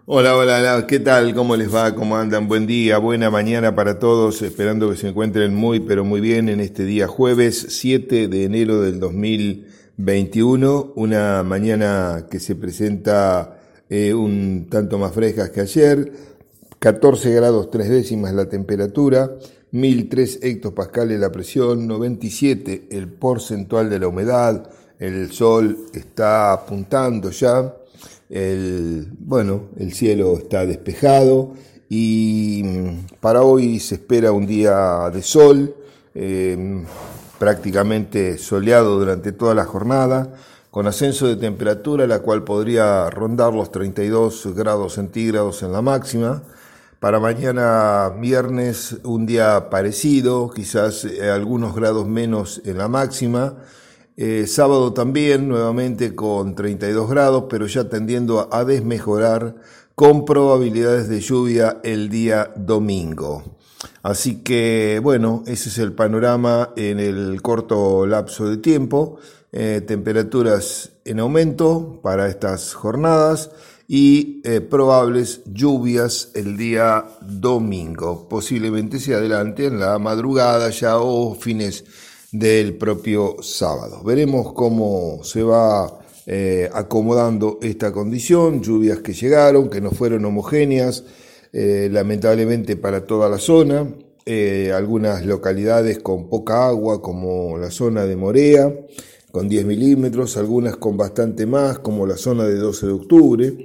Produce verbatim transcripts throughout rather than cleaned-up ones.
Hola, hola, hola, ¿qué tal? ¿Cómo les va? ¿Cómo andan? Buen día, buena mañana para todos, esperando que se encuentren muy, pero muy bien en este día jueves siete de enero del dos mil veintiuno, una mañana que se presenta eh, un tanto más fresca que ayer, catorce grados tres décimas la temperatura, mil tres hectopascales la presión, noventa y siete el porcentual de la humedad, el sol está apuntando ya. El, bueno, el cielo está despejado y para hoy se espera un día de sol, eh, prácticamente soleado durante toda la jornada, con ascenso de temperatura, la cual podría rondar los treinta y dos grados centígrados en la máxima. Para mañana viernes un día parecido, quizás eh, algunos grados menos en la máxima. Eh, sábado también, nuevamente con treinta y dos grados, pero ya tendiendo a desmejorar con probabilidades de lluvia el día domingo. Así que, bueno, ese es el panorama en el corto lapso de tiempo. Eh, temperaturas en aumento para estas jornadas y eh, probables lluvias el día domingo. Posiblemente se adelante en la madrugada ya o fines del propio sábado. Veremos cómo se va eh, acomodando esta condición, lluvias que llegaron, que no fueron homogéneas, eh, lamentablemente para toda la zona, eh, algunas localidades con poca agua, como la zona de Morea, con diez milímetros, algunas con bastante más, como la zona de doce de octubre,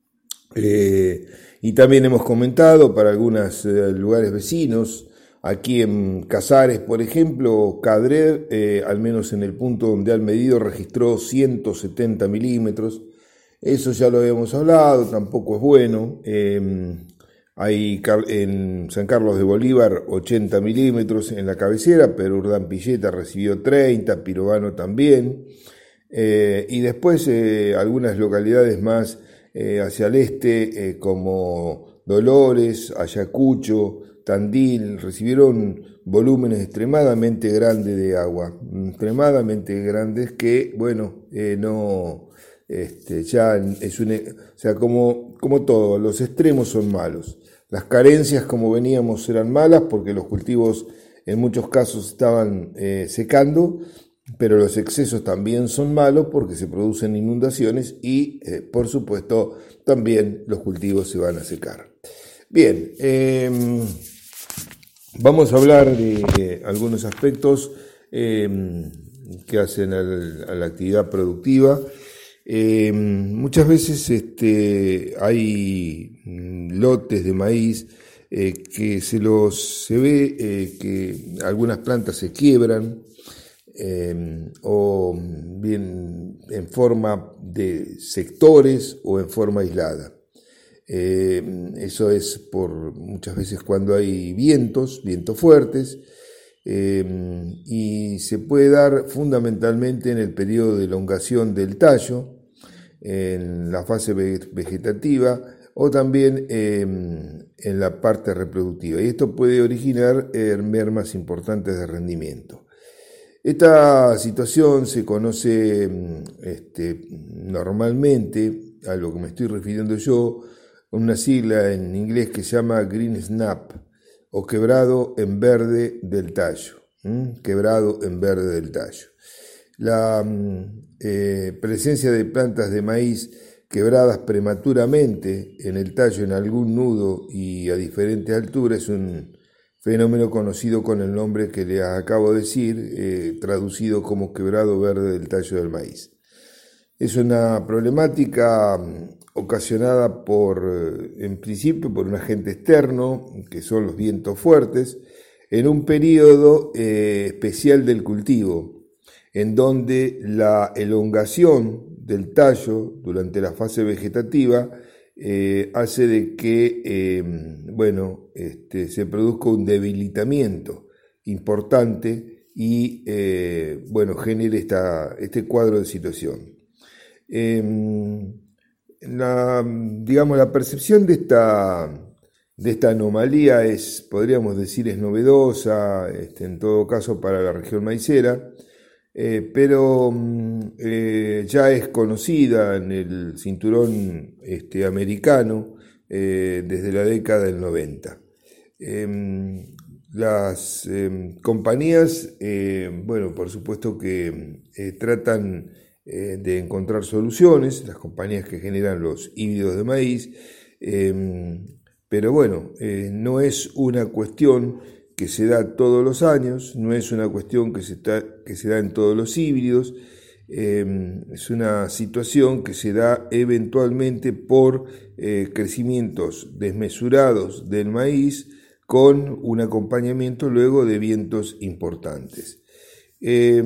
eh, y también hemos comentado para algunos eh, lugares vecinos. Aquí en Casares, por ejemplo, Cadrer, eh, al menos en el punto donde han medido, registró ciento setenta milímetros. Eso ya lo habíamos hablado, tampoco es bueno. Eh, hay en San Carlos de Bolívar ochenta milímetros en la cabecera, pero Urdán Pilleta recibió treinta, Pirovano también. Eh, y después eh, algunas localidades más eh, hacia el este, eh, como Dolores, Ayacucho, Tandil, recibieron volúmenes extremadamente grandes de agua, extremadamente grandes que, bueno, eh, no, este, ya es un, o sea, como, como todo, los extremos son malos. Las carencias, como veníamos, eran malas porque los cultivos en muchos casos estaban eh, secando, pero los excesos también son malos porque se producen inundaciones y, eh, por supuesto, también los cultivos se van a secar. Bien, eh, vamos a hablar de, de algunos aspectos eh, que hacen al, a la actividad productiva. Eh, muchas veces este, hay lotes de maíz eh, que se los se ve eh, que algunas plantas se quiebran eh, o bien en forma de sectores o en forma aislada. Eh, eso es por muchas veces cuando hay vientos, vientos fuertes, eh, y se puede dar fundamentalmente en el periodo de elongación del tallo, en la fase vegetativa o también eh, en la parte reproductiva. Y esto puede originar eh, mermas importantes de rendimiento. Esta situación se conoce este, normalmente, a lo que me estoy refiriendo yo, una sigla en inglés que se llama green snap o quebrado en verde del tallo. ¿Mm? Quebrado en verde del tallo. La eh, presencia de plantas de maíz quebradas prematuramente en el tallo en algún nudo y a diferentes alturas es un fenómeno conocido con el nombre que les acabo de decir, eh, traducido como quebrado verde del tallo del maíz. Es una problemática ocasionada por, en principio, por un agente externo, que son los vientos fuertes, en un periodo eh, especial del cultivo, en donde la elongación del tallo durante la fase vegetativa eh, hace de que eh, bueno, este, se produzca un debilitamiento importante y eh, bueno, genere esta, este cuadro de situación. Eh, la, digamos, la percepción de esta, de esta anomalía es, podríamos decir, es novedosa, este, en todo caso para la región maicera, eh, pero eh, ya es conocida en el cinturón este, americano, eh, desde la década del noventa. Eh, las eh, compañías, eh, bueno, por supuesto que eh, tratan eh, de encontrar soluciones, las compañías que generan los híbridos de maíz, eh, pero bueno, eh, no es una cuestión que se da todos los años, no es una cuestión que se, está, que se da en todos los híbridos, eh, es una situación que se da eventualmente por eh, crecimientos desmesurados del maíz con un acompañamiento luego de vientos importantes. Eh,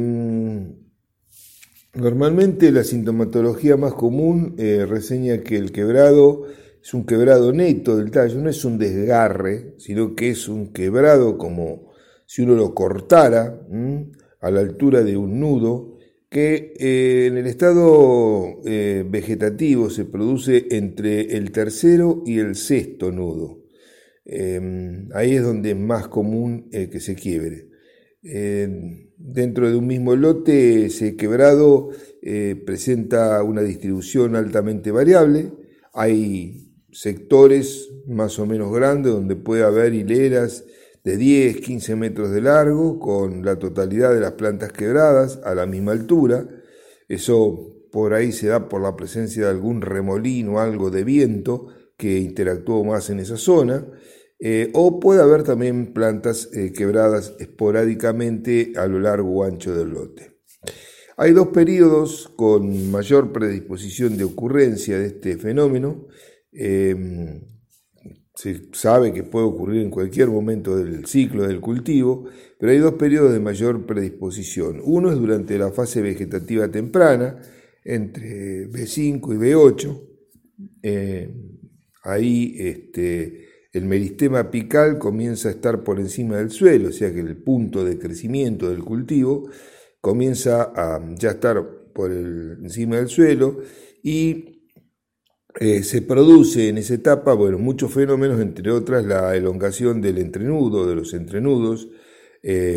normalmente la sintomatología más común eh, reseña que el quebrado es un quebrado neto del tallo, no es un desgarre, sino que es un quebrado como si uno lo cortara ¿m? a la altura de un nudo, que eh, en el estado eh, vegetativo se produce entre el tercero y el sexto nudo. Eh, ahí es donde es más común eh, que se quiebre. Eh, dentro de un mismo lote, ese quebrado eh, presenta una distribución altamente variable. Hay sectores más o menos grandes donde puede haber hileras de diez, quince metros de largo con la totalidad de las plantas quebradas a la misma altura. Eso por ahí se da por la presencia de algún remolino o algo de viento que interactuó más en esa zona, eh, o puede haber también plantas eh, quebradas esporádicamente a lo largo o ancho del lote. Hay dos periodos con mayor predisposición de ocurrencia de este fenómeno. Eh, se sabe que puede ocurrir en cualquier momento del ciclo del cultivo, pero hay dos periodos de mayor predisposición. Uno es durante la fase vegetativa temprana, entre B cinco y B ocho. Eh, ahí este, el meristema apical comienza a estar por encima del suelo, o sea que el punto de crecimiento del cultivo comienza a ya estar por el, encima del suelo y Eh, se produce en esa etapa, bueno, muchos fenómenos, entre otras la elongación del entrenudo, de los entrenudos, eh,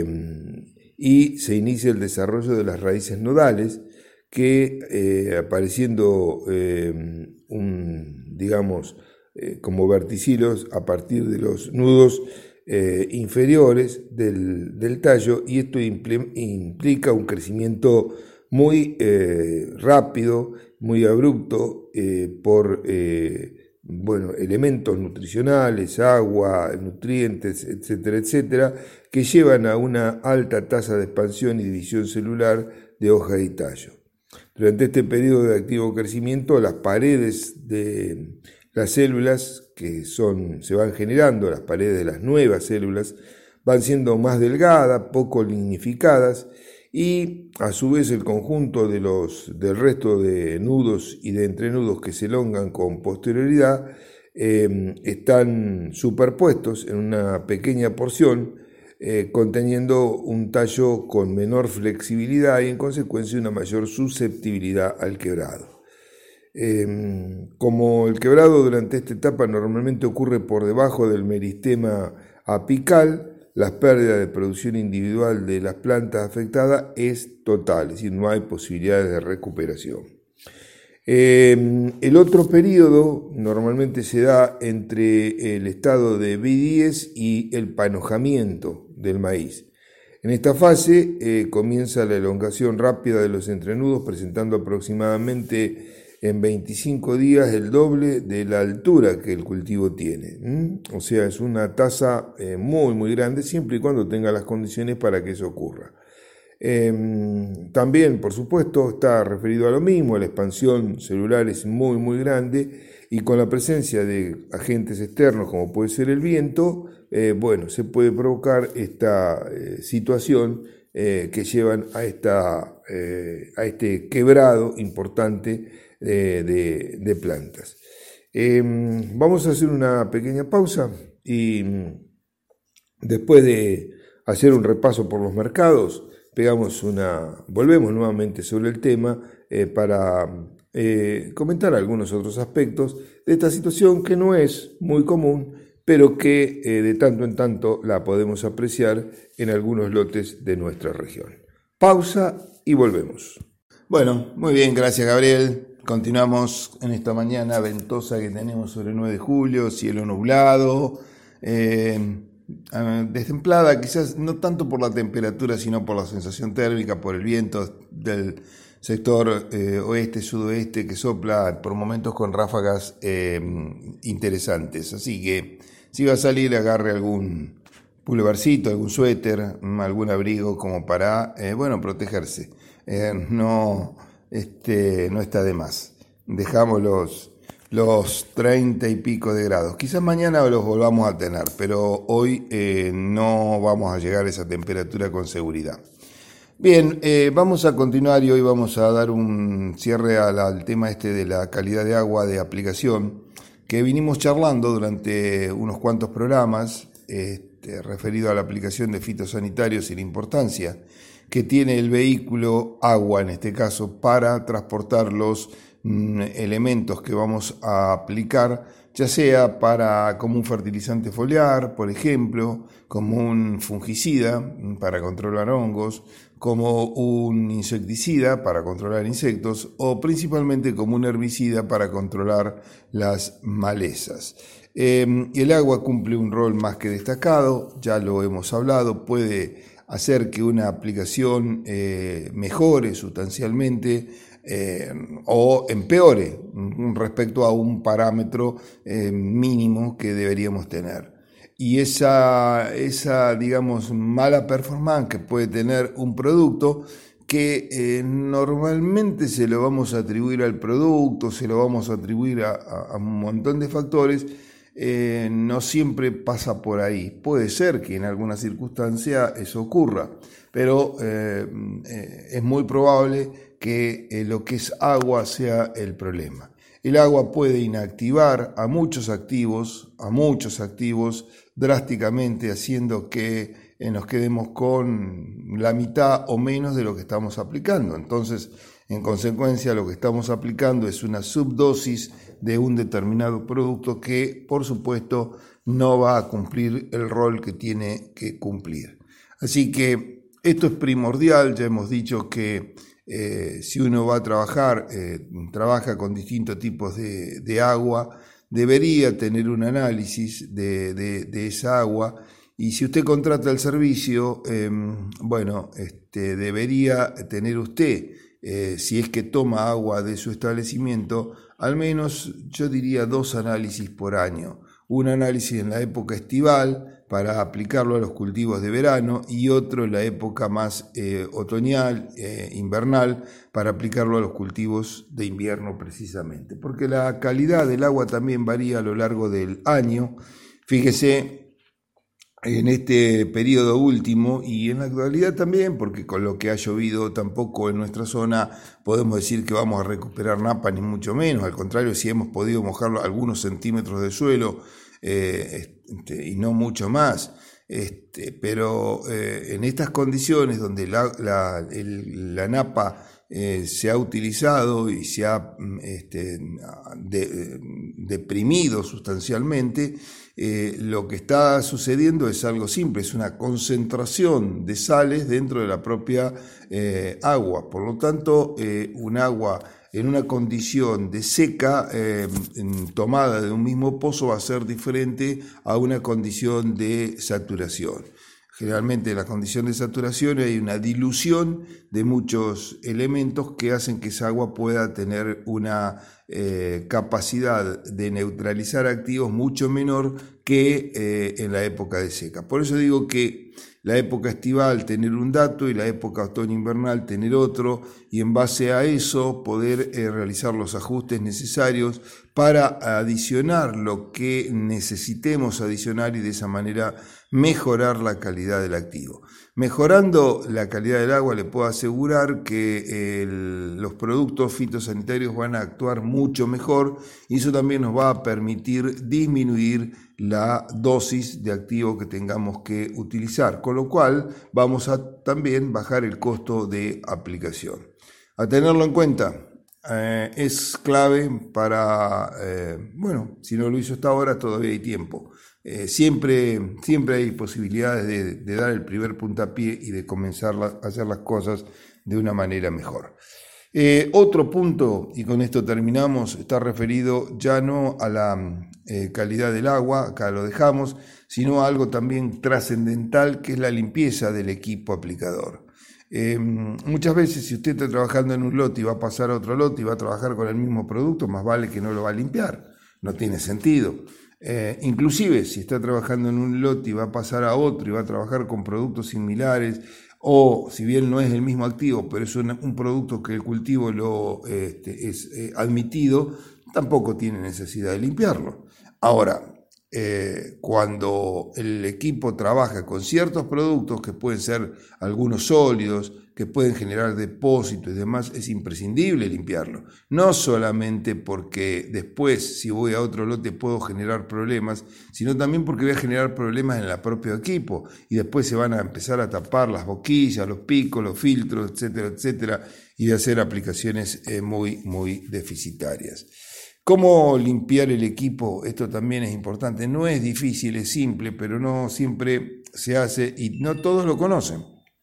y se inicia el desarrollo de las raíces nodales que eh, apareciendo eh, un, digamos, eh, como verticilos a partir de los nudos eh, inferiores del, del tallo, y esto impl- implica un crecimiento muy eh, rápido, muy abrupto eh, por eh, bueno, elementos nutricionales, agua, nutrientes, etcétera, etcétera, que llevan a una alta tasa de expansión y división celular de hoja y tallo. Durante este periodo de activo crecimiento, las paredes de las células que son, se van generando, las paredes de las nuevas células, van siendo más delgadas, poco lignificadas, y a su vez el conjunto de los, del resto de nudos y de entrenudos que se elongan con posterioridad eh, están superpuestos en una pequeña porción, eh, conteniendo un tallo con menor flexibilidad y en consecuencia una mayor susceptibilidad al quebrado. Eh, como el quebrado durante esta etapa normalmente ocurre por debajo del meristema apical, las pérdidas de producción individual de las plantas afectadas es total, es decir, no hay posibilidades de recuperación. Eh, el otro periodo normalmente se da entre el estado de B diez y el panojamiento del maíz. En esta fase eh, comienza la elongación rápida de los entrenudos, presentando aproximadamente en veinticinco días el doble de la altura que el cultivo tiene. ¿Mm? O sea, es una tasa eh, muy, muy grande, siempre y cuando tenga las condiciones para que eso ocurra. Eh, también, por supuesto, está referido a lo mismo, la expansión celular es muy, muy grande y con la presencia de agentes externos como puede ser el viento, eh, bueno, se puede provocar esta eh, situación eh, que llevan a, esta, eh, a este quebrado importante De, de, de plantas. Eh, vamos a hacer una pequeña pausa y después de hacer un repaso por los mercados, pegamos una, volvemos nuevamente sobre el tema eh, para eh, comentar algunos otros aspectos de esta situación que no es muy común, pero que eh, de tanto en tanto la podemos apreciar en algunos lotes de nuestra región. Pausa y volvemos. Bueno, muy bien, gracias Gabriel. Continuamos en esta mañana ventosa que tenemos sobre el nueve de julio, cielo nublado, eh, destemplada, quizás no tanto por la temperatura, sino por la sensación térmica, por el viento del sector eh, oeste-sudoeste que sopla por momentos con ráfagas eh, interesantes. Así que si va a salir, agarre algún pulovercito, algún suéter, algún abrigo como para, eh, bueno, protegerse. Eh, no, este, no está de más. Dejamos los, los treinta y pico de grados. Quizás mañana los volvamos a tener, pero hoy eh, no vamos a llegar a esa temperatura con seguridad. Bien, eh, vamos a continuar y hoy vamos a dar un cierre al, al tema este de la calidad de agua de aplicación que vinimos charlando durante unos cuantos programas este, referido a la aplicación de fitosanitarios y la importancia que tiene el vehículo agua, en este caso, para transportar los mm, elementos que vamos a aplicar, ya sea para como un fertilizante foliar, por ejemplo, como un fungicida para controlar hongos, como un insecticida para controlar insectos o principalmente como un herbicida para controlar las malezas. Eh, el agua cumple un rol más que destacado, ya lo hemos hablado, puede hacer que una aplicación eh, mejore sustancialmente eh, o empeore respecto a un parámetro eh, mínimo que deberíamos tener. Y esa, esa, digamos, mala performance que puede tener un producto que eh, normalmente se lo vamos a atribuir al producto, se lo vamos a atribuir a, a, a un montón de factores, eh, no siempre pasa por ahí. Puede ser que en alguna circunstancia eso ocurra, pero eh, eh, es muy probable que eh, lo que es agua sea el problema. El agua puede inactivar a muchos activos, a muchos activos drásticamente, haciendo que eh, nos quedemos con la mitad o menos de lo que estamos aplicando. Entonces, en consecuencia, lo que estamos aplicando es una subdosis de un determinado producto que, por supuesto, no va a cumplir el rol que tiene que cumplir. Así que esto es primordial. Ya hemos dicho que Eh, si uno va a trabajar, eh, trabaja con distintos tipos de, de agua, debería tener un análisis de, de, de esa agua, y si usted contrata el servicio, eh, bueno, este, debería tener usted, eh, si es que toma agua de su establecimiento, al menos yo diría dos análisis por año. Un análisis en la época estival para aplicarlo a los cultivos de verano y otro en la época más eh, otoñal, eh, invernal, para aplicarlo a los cultivos de invierno precisamente. Porque la calidad del agua también varía a lo largo del año. Fíjese en este periodo último y en la actualidad también, porque con lo que ha llovido tampoco en nuestra zona podemos decir que vamos a recuperar napa, ni mucho menos. Al contrario, si hemos podido mojar algunos centímetros de suelo eh, este, y no mucho más. Este, pero eh, en estas condiciones donde la, la, el, la napa eh, se ha utilizado y se ha este, de, deprimido sustancialmente, eh, lo que está sucediendo es algo simple, es una concentración de sales dentro de la propia eh, agua. Por lo tanto, eh, un agua en una condición de seca eh, tomada de un mismo pozo va a ser diferente a una condición de saturación. Generalmente en la condición de saturación hay una dilución de muchos elementos que hacen que esa agua pueda tener una eh, capacidad de neutralizar activos mucho menor que eh, en la época de seca. Por eso digo que la época estival tener un dato y la época otoño-invernal tener otro, y en base a eso poder eh, realizar los ajustes necesarios para adicionar lo que necesitemos adicionar y de esa manera mejorar la calidad del activo. Mejorando la calidad del agua, le puedo asegurar que el, los productos fitosanitarios van a actuar mucho mejor, y eso también nos va a permitir disminuir la dosis de activo que tengamos que utilizar, con lo cual vamos a también bajar el costo de aplicación. A tenerlo en cuenta. Eh, es clave para, eh, bueno, si no lo hizo hasta ahora, todavía hay tiempo. Eh, siempre, siempre hay posibilidades de, de dar el primer puntapié y de comenzar a hacer las cosas de una manera mejor. Eh, otro punto, y con esto terminamos, está referido ya no a la eh, calidad del agua, acá lo dejamos, sino a algo también trascendental, que es la limpieza del equipo aplicador. Eh, muchas veces, si usted está trabajando en un lote y va a pasar a otro lote y va a trabajar con el mismo producto, más vale que no lo va a limpiar, no tiene sentido. Eh, inclusive, si está trabajando en un lote y va a pasar a otro y va a trabajar con productos similares, o si bien no es el mismo activo, pero es un, un producto que el cultivo lo, este, es eh, admitido, tampoco tiene necesidad de limpiarlo. Ahora, eh, cuando el equipo trabaja con ciertos productos que pueden ser algunos sólidos, que pueden generar depósitos y demás, es imprescindible limpiarlo. No solamente porque después, si voy a otro lote, puedo generar problemas, sino también porque voy a generar problemas en el propio equipo y después se van a empezar a tapar las boquillas, los picos, los filtros, etcétera, etcétera, y de hacer aplicaciones eh, muy, muy deficitarias. ¿Cómo limpiar el equipo? Esto también es importante. No es difícil, es simple, pero no siempre se hace y no todos lo conocen.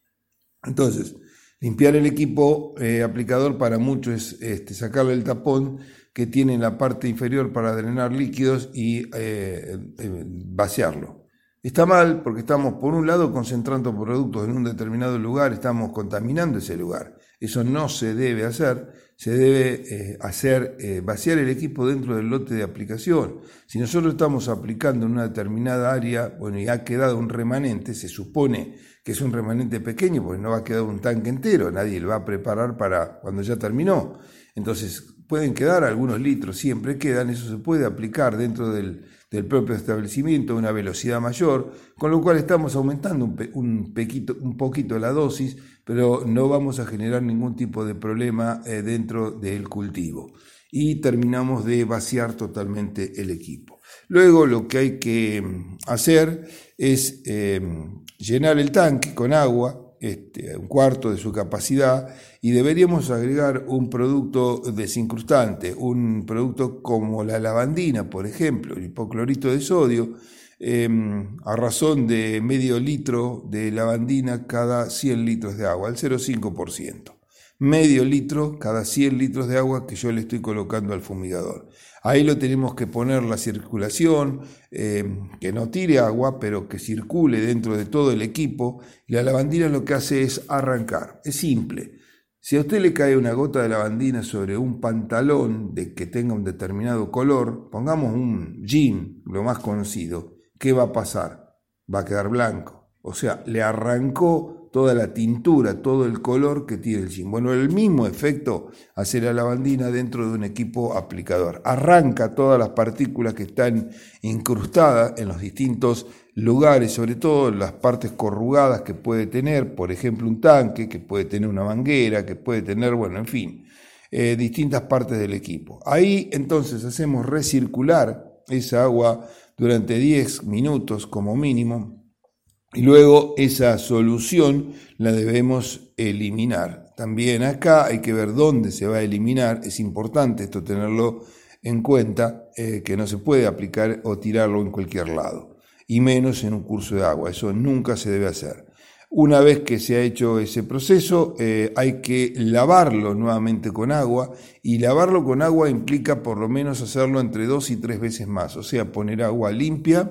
Entonces, limpiar el equipo eh, aplicador para muchos es este, sacarle el tapón que tiene en la parte inferior para drenar líquidos y eh, eh, vaciarlo. Está mal porque estamos, por un lado, concentrando productos en un determinado lugar, estamos contaminando ese lugar. Eso no se debe hacer, se debe eh, hacer eh, vaciar el equipo dentro del lote de aplicación. Si nosotros estamos aplicando en una determinada área, bueno, y ha quedado un remanente, se supone que es un remanente pequeño, porque no va a quedar un tanque entero, nadie lo va a preparar para cuando ya terminó. Entonces, pueden quedar algunos litros, siempre quedan, eso se puede aplicar dentro del, del propio establecimiento a una velocidad mayor, con lo cual estamos aumentando un, pe, un, pequito, un poquito la dosis, pero no vamos a generar ningún tipo de problema eh, dentro del cultivo. Y terminamos de vaciar totalmente el equipo. Luego lo que hay que hacer es eh, llenar el tanque con agua, este, un cuarto de su capacidad, y deberíamos agregar un producto desincrustante, un producto como la lavandina, por ejemplo, el hipoclorito de sodio, eh, a razón de medio litro de lavandina cada cien litros de agua, el cero coma cinco por ciento. Medio litro cada cien litros de agua que yo le estoy colocando al fumigador. Ahí lo tenemos que poner la circulación, eh, que no tire agua, pero que circule dentro de todo el equipo. Y la lavandina lo que hace es arrancar. Es simple. Si a usted le cae una gota de lavandina sobre un pantalón de que tenga un determinado color, pongamos un jean, lo más conocido, ¿qué va a pasar? Va a quedar blanco. O sea, le arrancó toda la tintura, todo el color que tiene el jean. Bueno, el mismo efecto hace la lavandina dentro de un equipo aplicador. Arranca todas las partículas que están incrustadas en los distintos lugares, sobre todo las partes corrugadas que puede tener, por ejemplo, un tanque, que puede tener una manguera, que puede tener, bueno, en fin, eh, distintas partes del equipo. Ahí entonces hacemos recircular esa agua durante diez minutos como mínimo. Y luego esa solución la debemos eliminar. También acá hay que ver dónde se va a eliminar. Es importante esto tenerlo en cuenta, eh, que no se puede aplicar o tirarlo en cualquier lado. Y menos en un curso de agua. Eso nunca se debe hacer. Una vez que se ha hecho ese proceso, eh, hay que lavarlo nuevamente con agua. Y lavarlo con agua implica por lo menos hacerlo entre dos y tres veces más. O sea, poner agua limpia,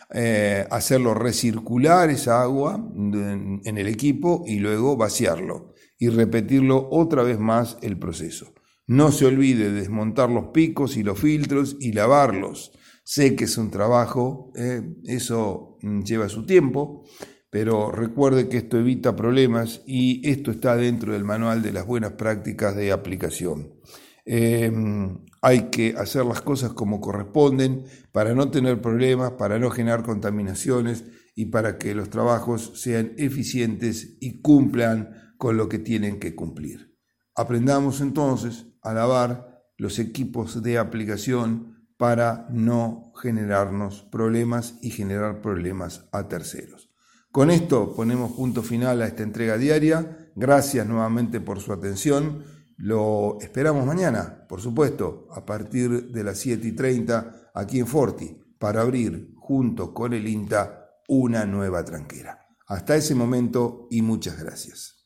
Eh, hacerlo recircular esa agua en, en el equipo y luego vaciarlo y repetirlo otra vez más el proceso. No se olvide de desmontar los picos y los filtros y lavarlos. Sé que es un trabajo, eh, eso lleva su tiempo, pero recuerde que esto evita problemas y esto está dentro del manual de las buenas prácticas de aplicación. Eh, hay que hacer las cosas como corresponden para no tener problemas, para no generar contaminaciones y para que los trabajos sean eficientes y cumplan con lo que tienen que cumplir. Aprendamos entonces a lavar los equipos de aplicación para no generarnos problemas y generar problemas a terceros. Con esto ponemos punto final a esta entrega diaria. Gracias nuevamente por su atención. Lo esperamos mañana, por supuesto, a partir de las siete y treinta aquí en Forti, para abrir junto con el INTA una nueva tranquera. Hasta ese momento y muchas gracias.